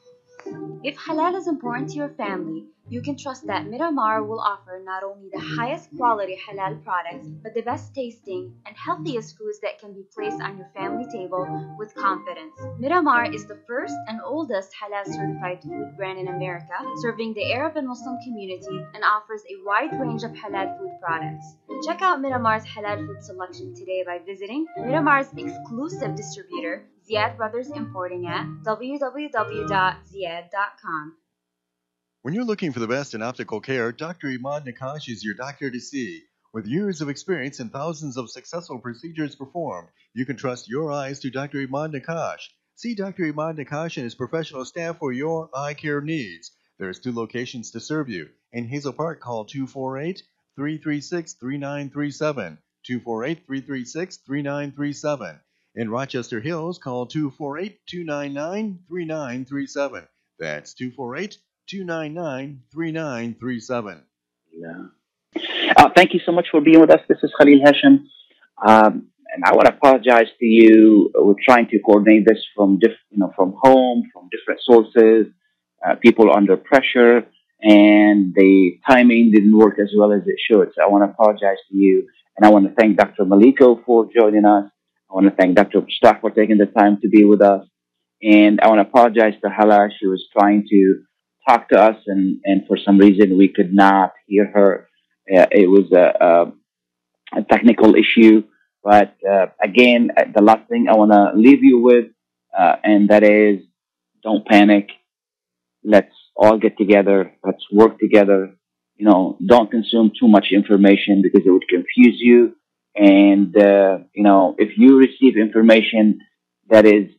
If halal is important to your family, you can trust that Miramar will offer not only the highest quality halal products, but the best tasting and healthiest foods that can be placed on your family table with confidence. Miramar is the first and oldest halal certified food brand in America, serving the Arab and Muslim community and offers a wide range of halal food products. Check out Miramar's halal food selection today by visiting Miramar's exclusive distributor, Ziad Brothers Importing at w w w dot ziad dot com. When you're looking for the best in optical care, Doctor Imad Nakash is your doctor to see. With years of experience and thousands of successful procedures performed, you can trust your eyes to Doctor Imad Nakash. See Doctor Imad Nakash and his professional staff for your eye care needs. There's two locations to serve you. In Hazel Park, call two four eight, three three six, three nine three seven, two four eight, three three six, three nine three seven. In Rochester Hills, call two four eight, two nine nine, three nine three seven. That's two four eight, two nine nine, three nine three seven. Yeah. Uh, thank you so much for being with us. This is Khalil Hashem. Um, and I want to apologize to you. We're trying to coordinate this from diff- you know, from home, from different sources, uh, people under pressure, and the timing didn't work as well as it should. So I want to apologize to you. And I want to thank Doctor Maliko for joining us. I want to thank Doctor Mustafa for taking the time to be with us. And I want to apologize to Hala. She was trying to talk to us, and, and for some reason we could not hear her. Uh, it was a, a, a technical issue. But uh, again, the last thing I want to leave you with, uh, and that is, don't panic. Let's all get together. Let's work together. You know, don't consume too much information because it would confuse you. And, uh, you know, if you receive information that is,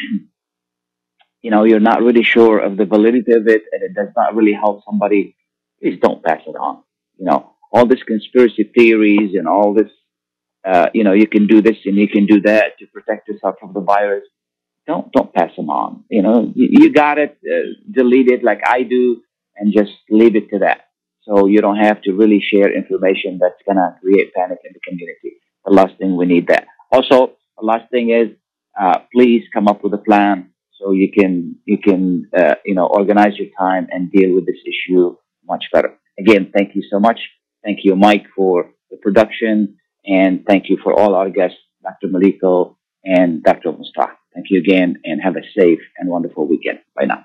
you know, you're not really sure of the validity of it and it does not really help somebody, please don't pass it on. You know, all this conspiracy theories and all this, uh, you know, you can do this and you can do that to protect yourself from the virus. Don't, don't pass them on. You know, you, you got it, uh, delete it like I do and just leave it to that. So you don't have to really share information that's going to create panic in the community. The last thing we need that. Also, a the last thing is, uh, please come up with a plan so you can you can uh, you know organize your time and deal with this issue much better. Again, thank you so much. Thank you, Mike, for the production, and thank you for all our guests, Doctor Maliko and Doctor Mustah. Thank you again, and have a safe and wonderful weekend. Bye now.